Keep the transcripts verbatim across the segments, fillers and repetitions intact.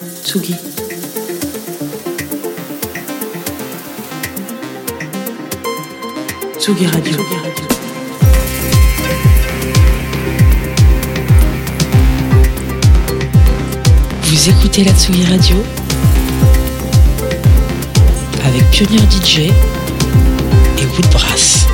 Tsugi. Tsugi Radio. Vous écoutez la Tsugi Radio avec Pionnier D J et Woodbrass.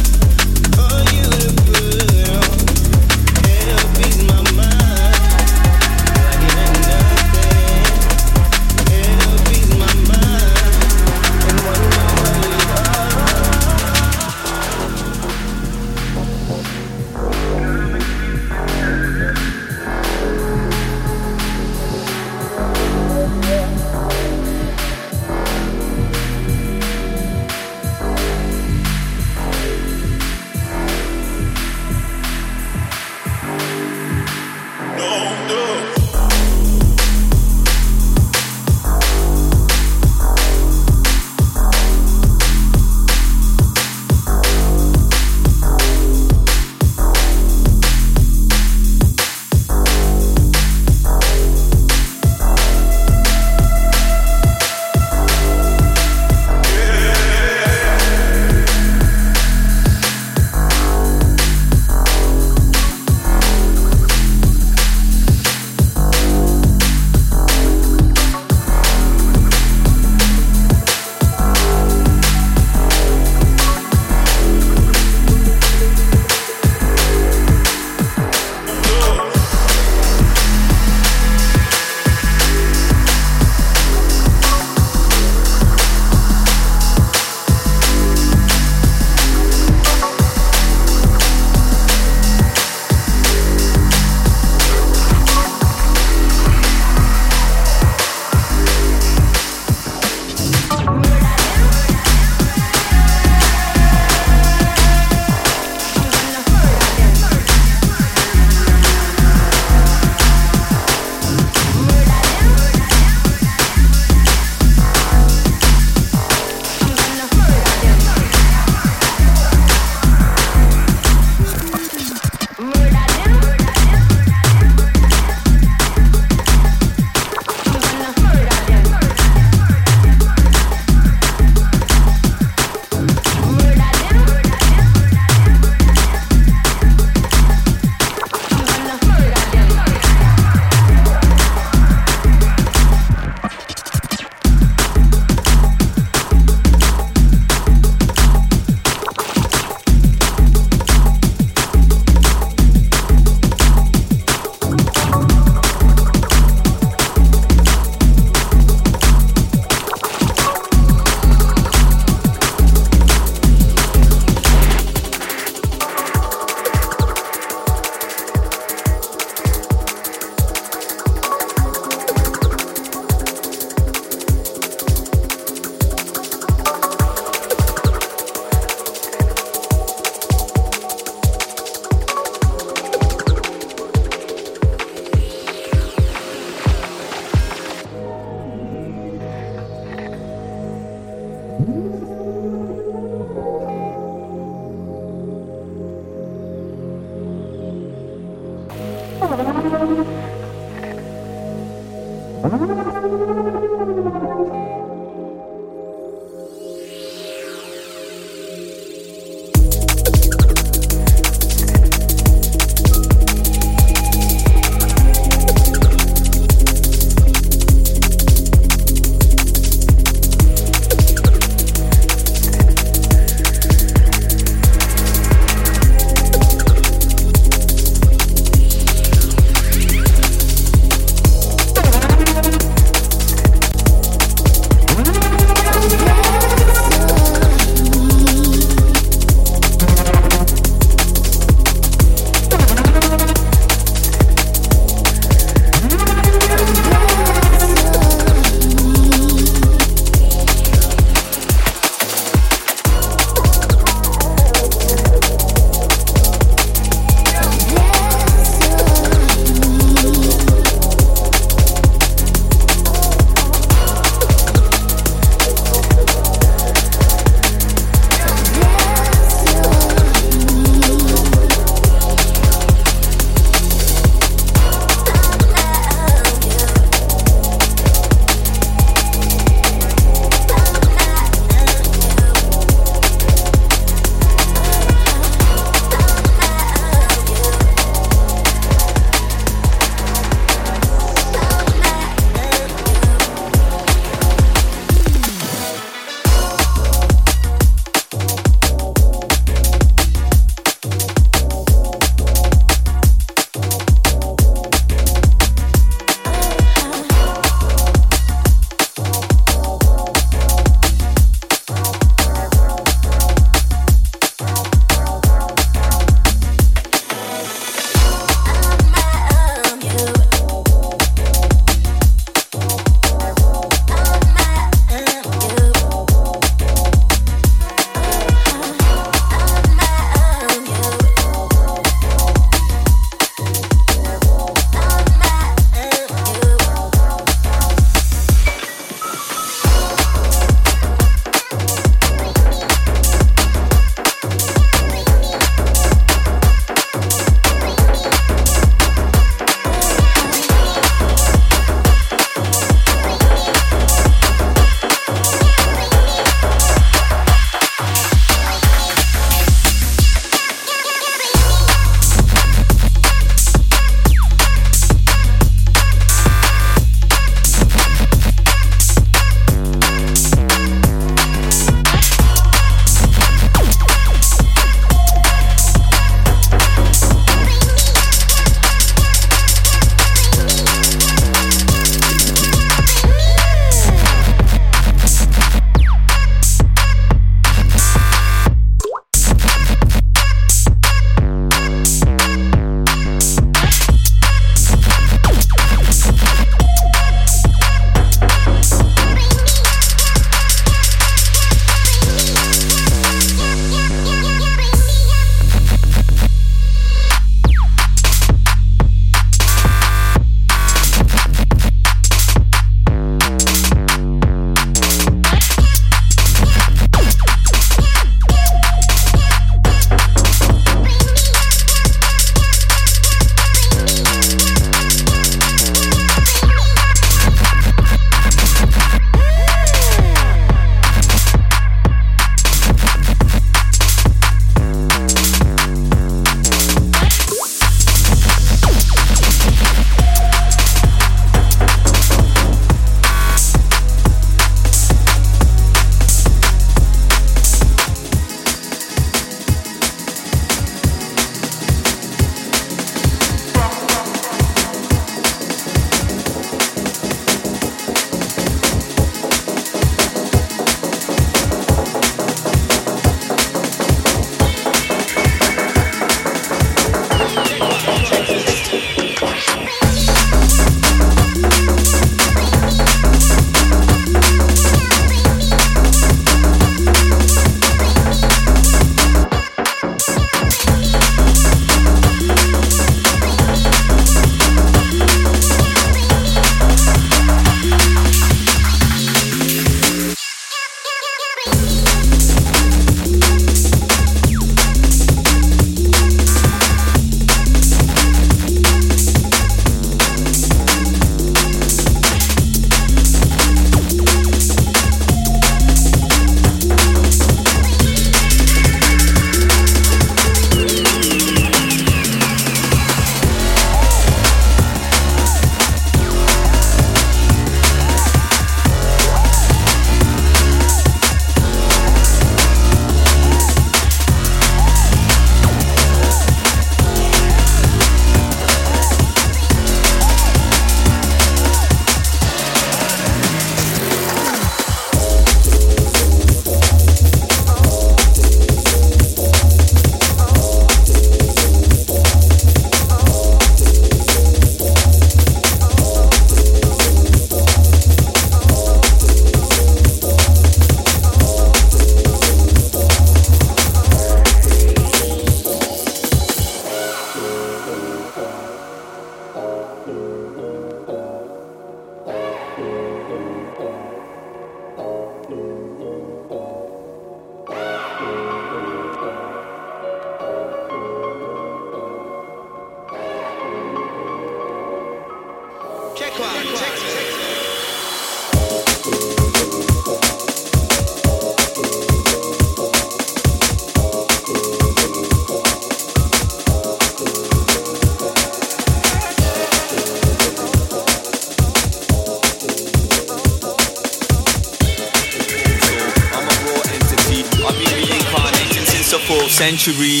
since the fourth century.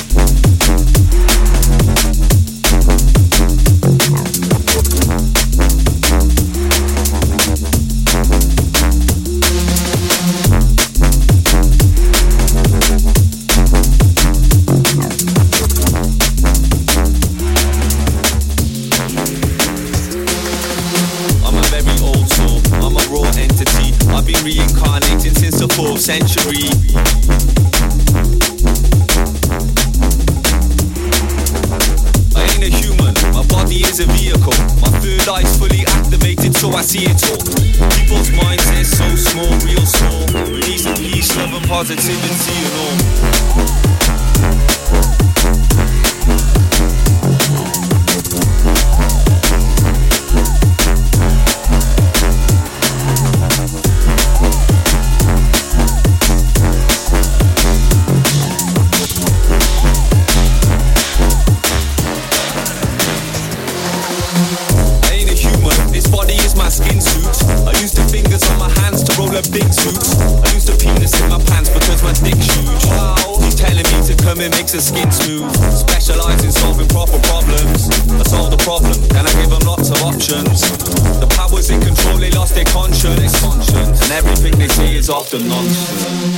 Century. I ain't a human, my body is a vehicle. My third eye's fully activated, so I see it all. People's minds, they're so small, real small. Release and peace, love and positivity and all. Big suits. I used a penis in my pants because my dick's huge. Wow. He's telling me to come and make the skin smooth. Specialise in solving proper problems. I solve the problem, then I give them lots of options. The powers in control, they lost their conscience. And everything they say is often nonsense.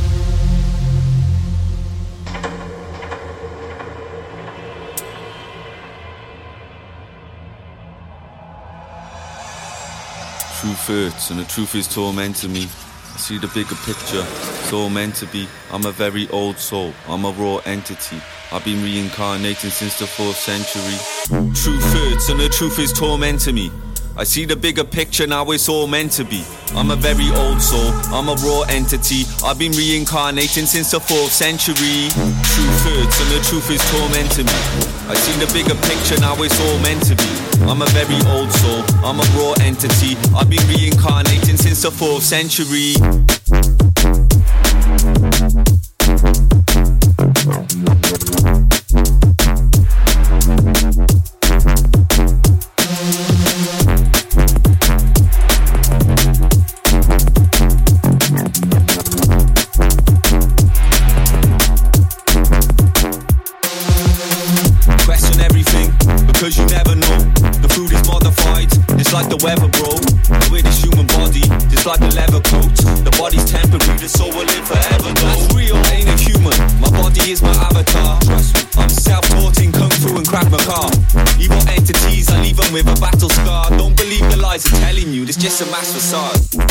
Truth hurts and the truth is tormenting me. I see the bigger picture, it's all meant to be. I'm a very old soul, I'm a raw entity. I've been reincarnating since the fourth century. Truth hurts and the truth is tormenting me. I see the bigger picture, now it's all meant to be. I'm a very old soul, I'm a raw entity. I've been reincarnating since the fourth century. Truth hurts and the truth is tormenting me. I see the bigger picture, now it's all meant to be. I'm a very old soul, I'm a raw entity. I've been reincarnating since the fourth century. Weather, bro. The way this human body, just like a leather coat. The body's temporary, the soul will live forever. Though. That's real, I ain't a human. My body is my avatar. Trust me, I'm self-taught in kung fu and Krav Maga. Evil entities, I leave them with a battle scar. Don't believe the lies they're telling you. It's just a mass facade.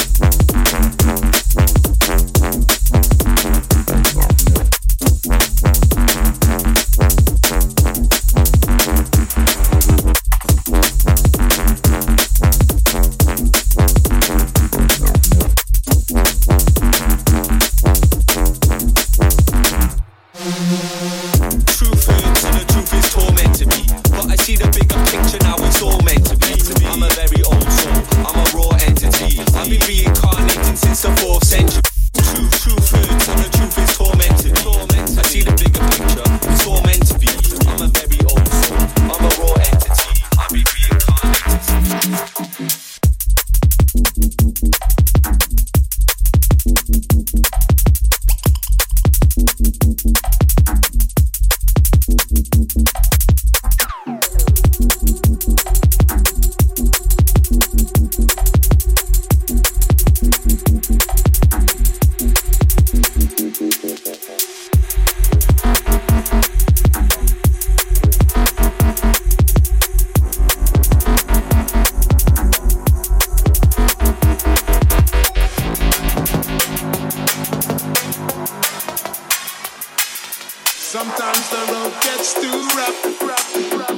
Sometimes the road gets too rough, rough, rough.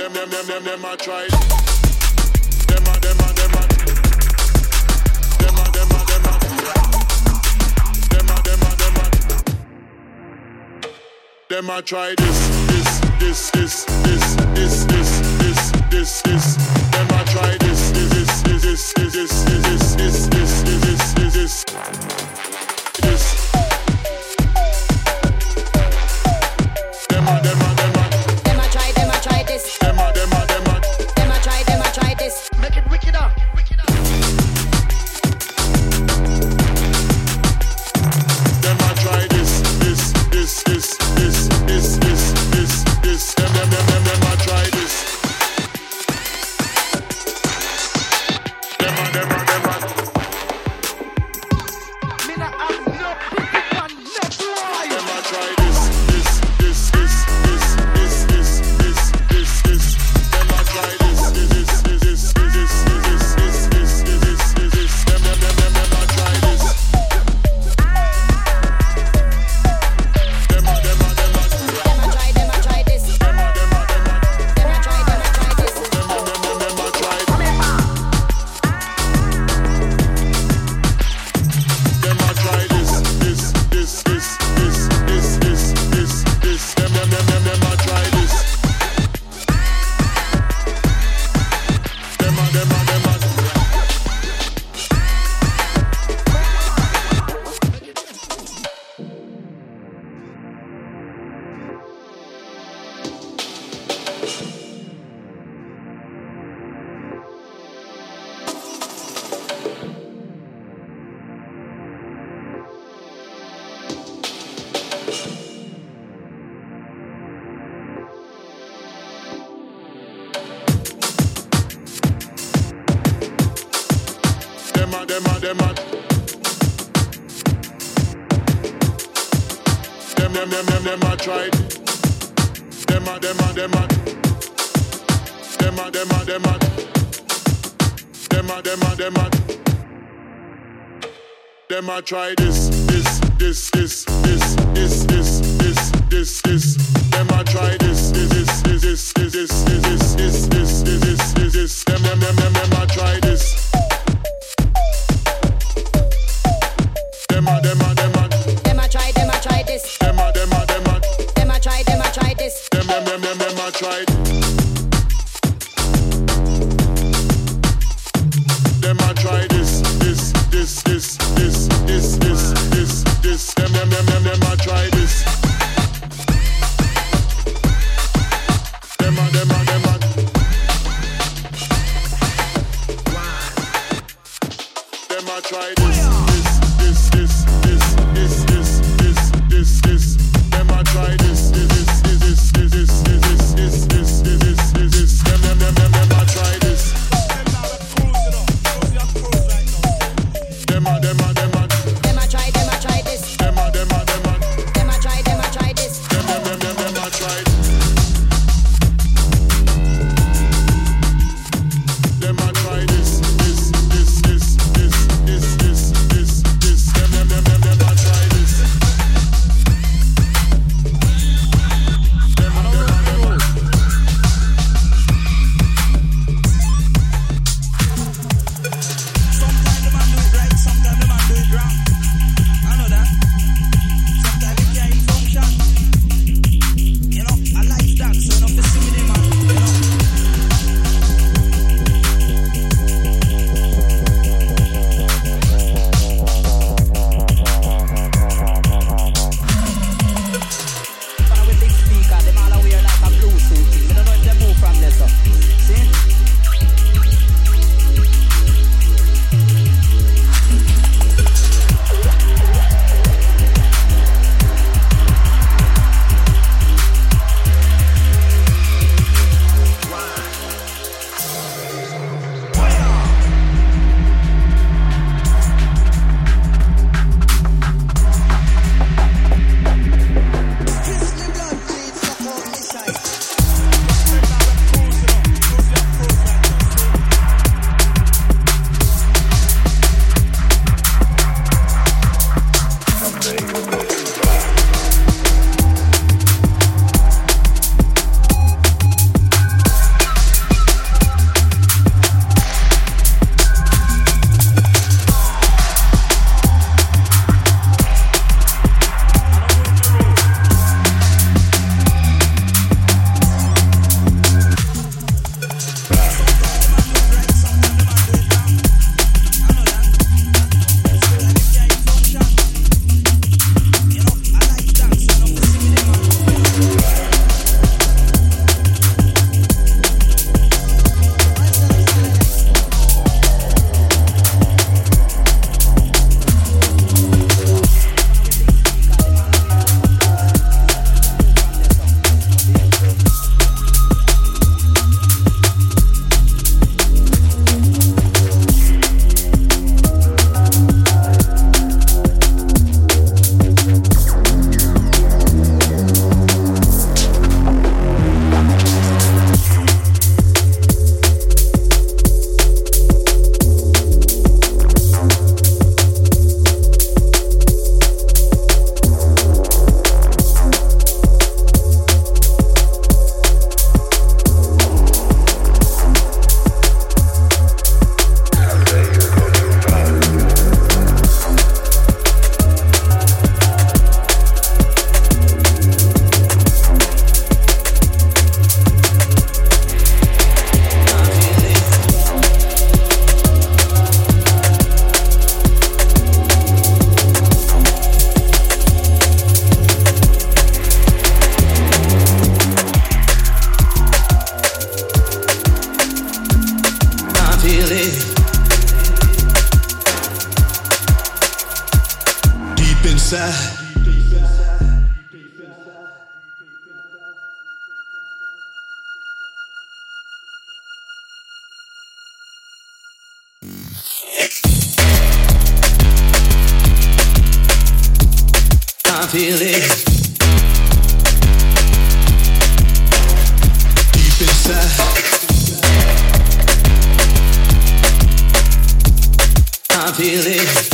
them, them, them, them, them, I tried. Them, a, them, a, them, a. Them, a, them, a, them, a. Them, a, them, a, them, a. Them, I try this, this, this, this, this, this, this, this, this, this. Them, I try this, this, this, this, this, this, this, this, this, this, this, this. This. Them a, them a, them a. Them a try, them a try this. Them a, them a, them a. Them a try, them a try this. Make it wickeder, wickeder. Them a try this, this, this, this, this, this, this, this, this. Them, them, them, them, them a try this. Them a, them a, them a. Me not have no pity man, no boy. Them a try this, this, this, this, this, this, this, this, this, this. Them a try this, this, this, this, this, this, this, this, this, this, this, this. Them, them, them, them, them a try this. Them a, them a, them a. Them a try, them a try this. Them a, them a, them a. Them a try, them a try this. Them, them, them, them, them a try. Them a try this, this, this, this, this, this, this, this, this. Them, them, them, them, them a try this. Them a, them a, them a. Them a, them a, them a. Them, them, them, them, them a tried. Them a, them a, them a. Them a, them a, them a. Them a, them a, them a. Them a try this, this, this, this, this, this, this, this, this, this. Them a try this, this, this, this, this, this, this, this, this, this, this, this, this. Them, them, them, them, them a try this. Them a, them a, them a. Them a try, them a try this. Them a, them a, them a. Them a try, them a try this. Them, them, them, them, them a tried. Them a try this, this, this, this, this, this, this, this, this. Them, them, them, them, them a try this. Them a, them a, them a. inside. I feel it deep inside. I feel it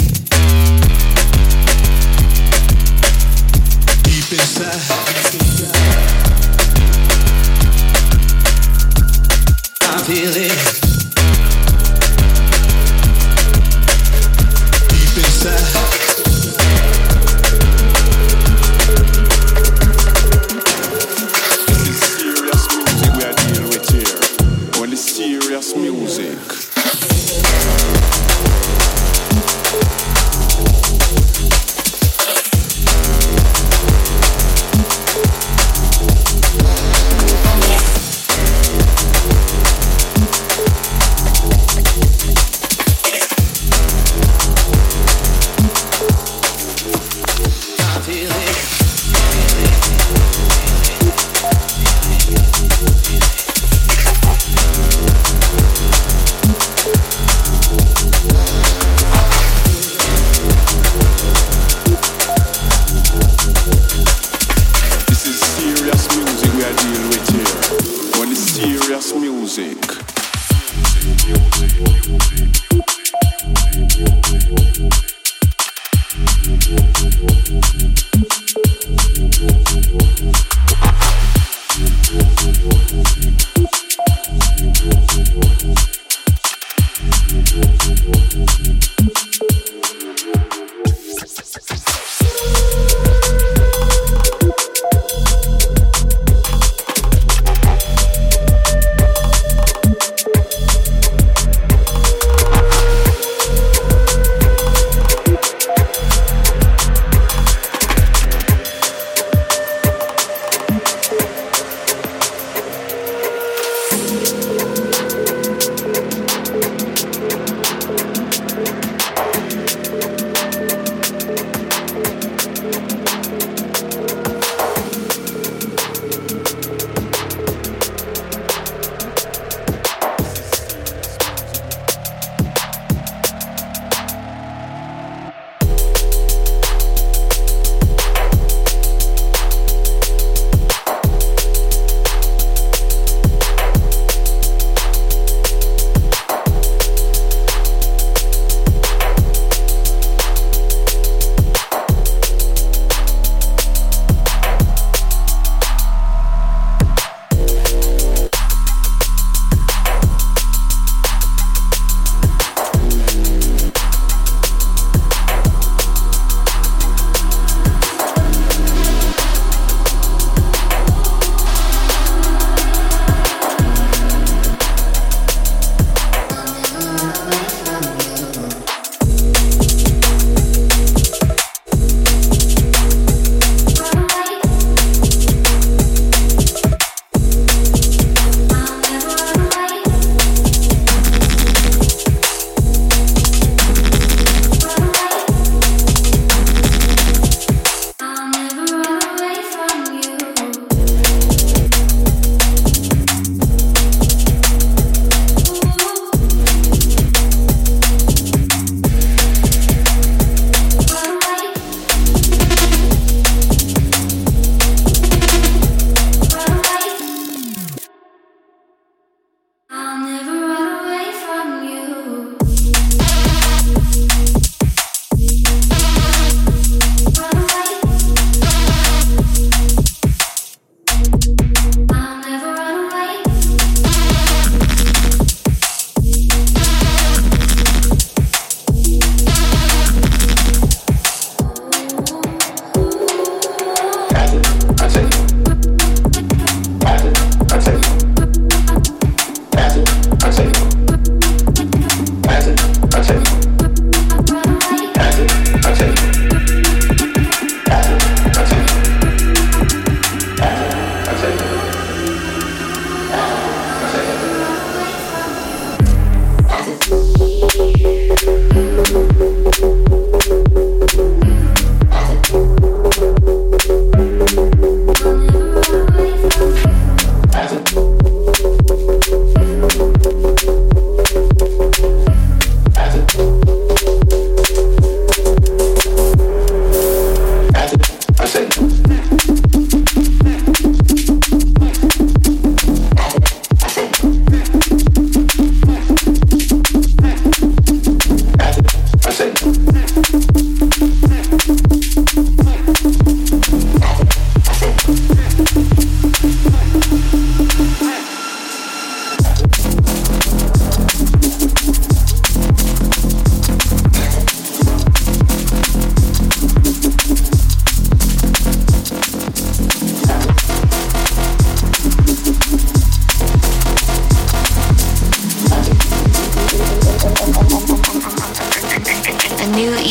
deep inside. I feel it deep inside. Serious music.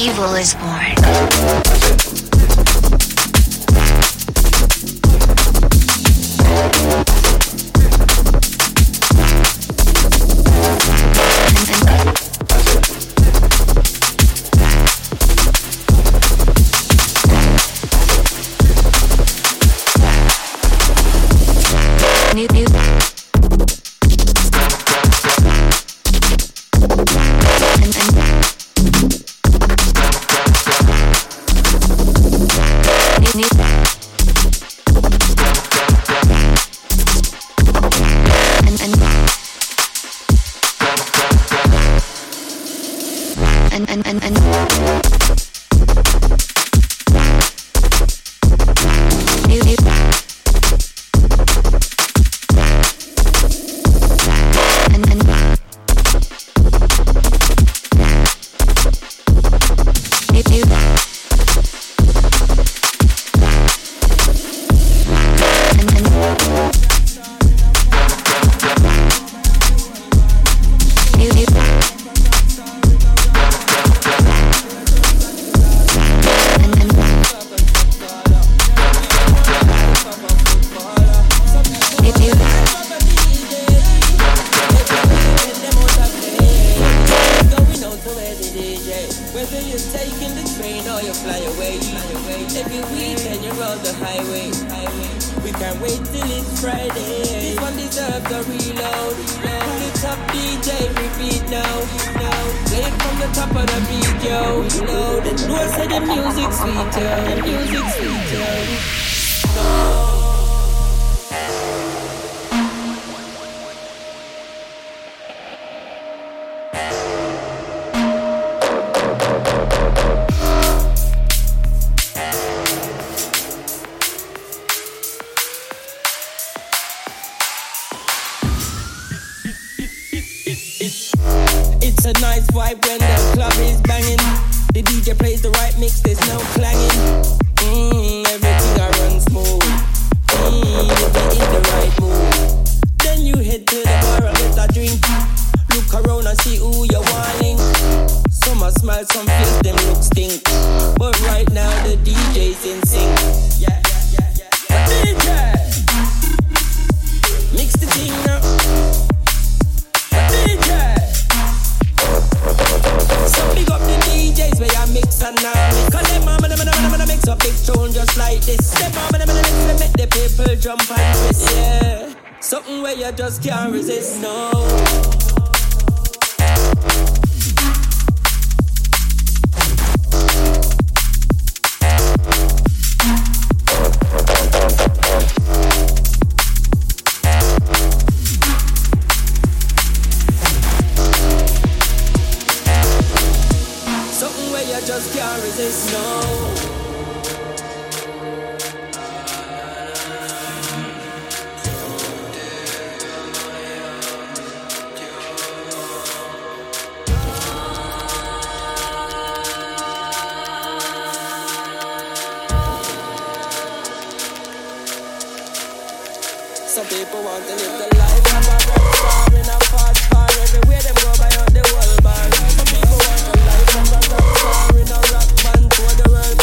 evil is born. New, new. And, and. New, new. And, and. And, and, and, and. New, new. And, and. New, new. And, and. New, new. And, and. New, new. Whether you're taking the train or you fly away, every weekend you're on the highway. We can't wait till it's Friday. This one deserves a reload. Pull it up, D J, repeat now. Play it from the top of the video. Load it. No, I said the music sweeter, the music sweeter. No. It's a nice vibe when the club is banging. The D J plays the right mix, there's no clanging. Mmm, everything I run smooth. Mmm, you're in the right mood. Then you head to the bar and get a drink. Look around and see who you're wanting. Some a smile, some face, them look stink. But right now the D J's in sync. Yeah, yeah, yeah, yeah. D J, mix the thing now. D J. So big up the D Js where you mix and now mix. Cause them mama, them mama, mix up big tune just like this. Them mama, them mama, make the people jump and twist. Yeah, something where you just can't resist, no. Just can't resist, no. Some people want to live the life of a rock star in a fast car. Everywhere them go by on the world bar. Some people want the life of a rock star in a rock band for the world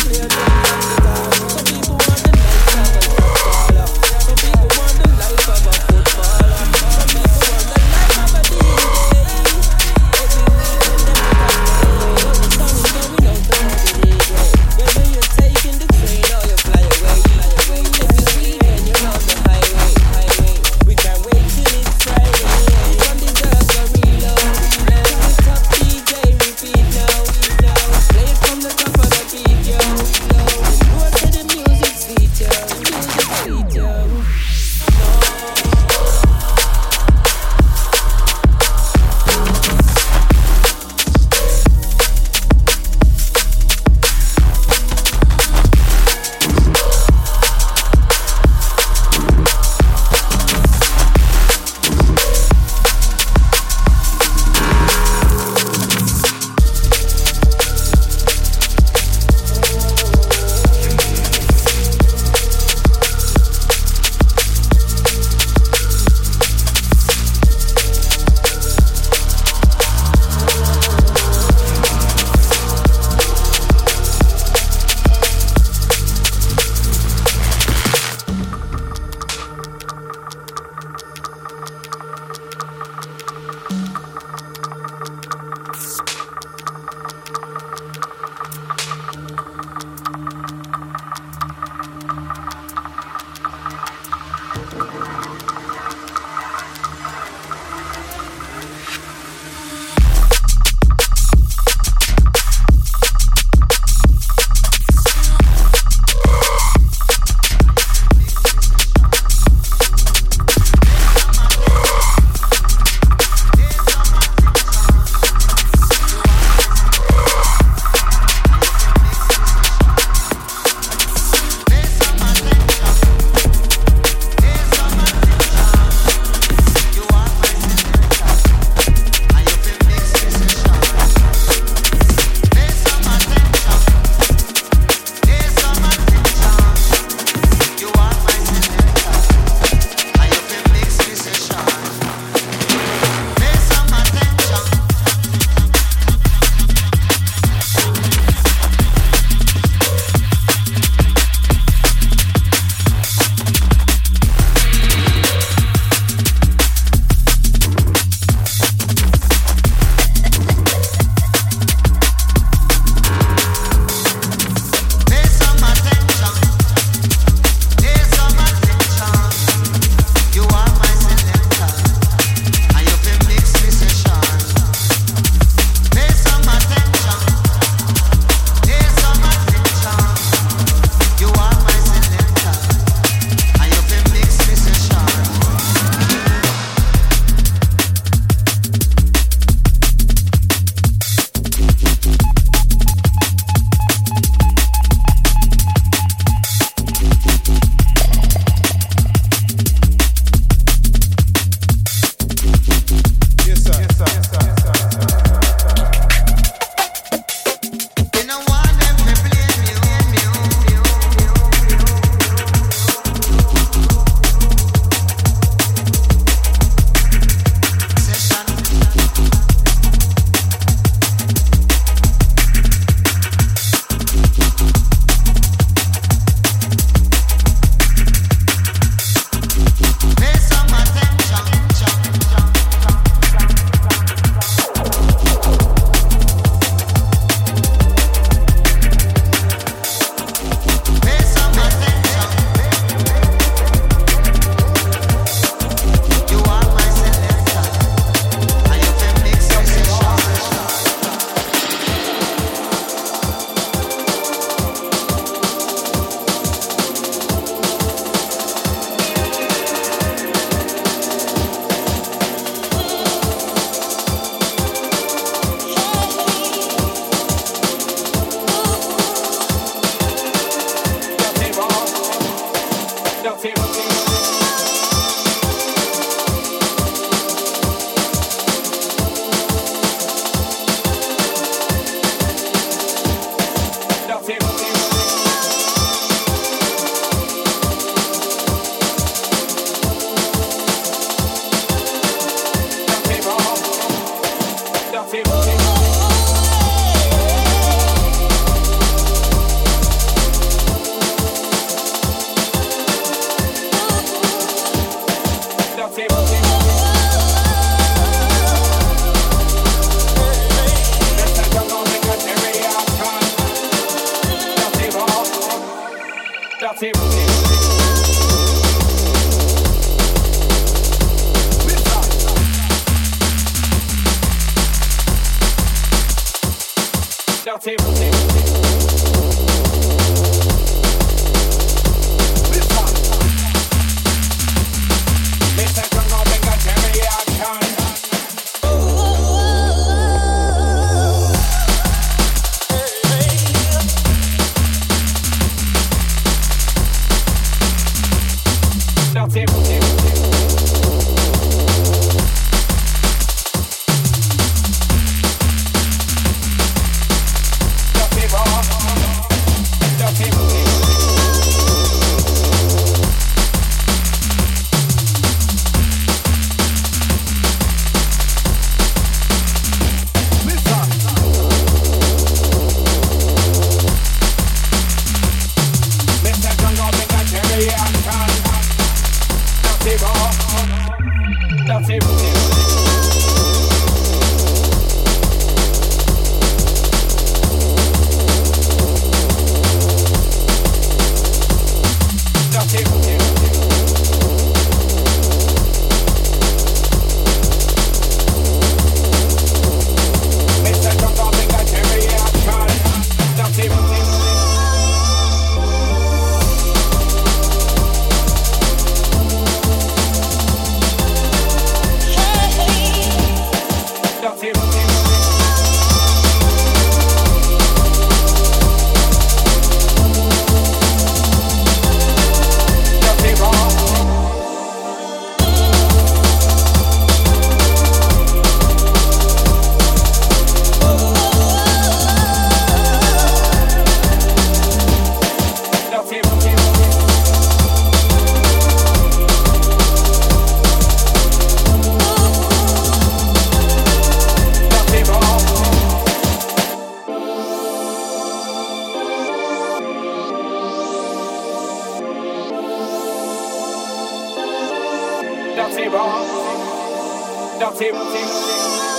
Dirty, dirty, dirty.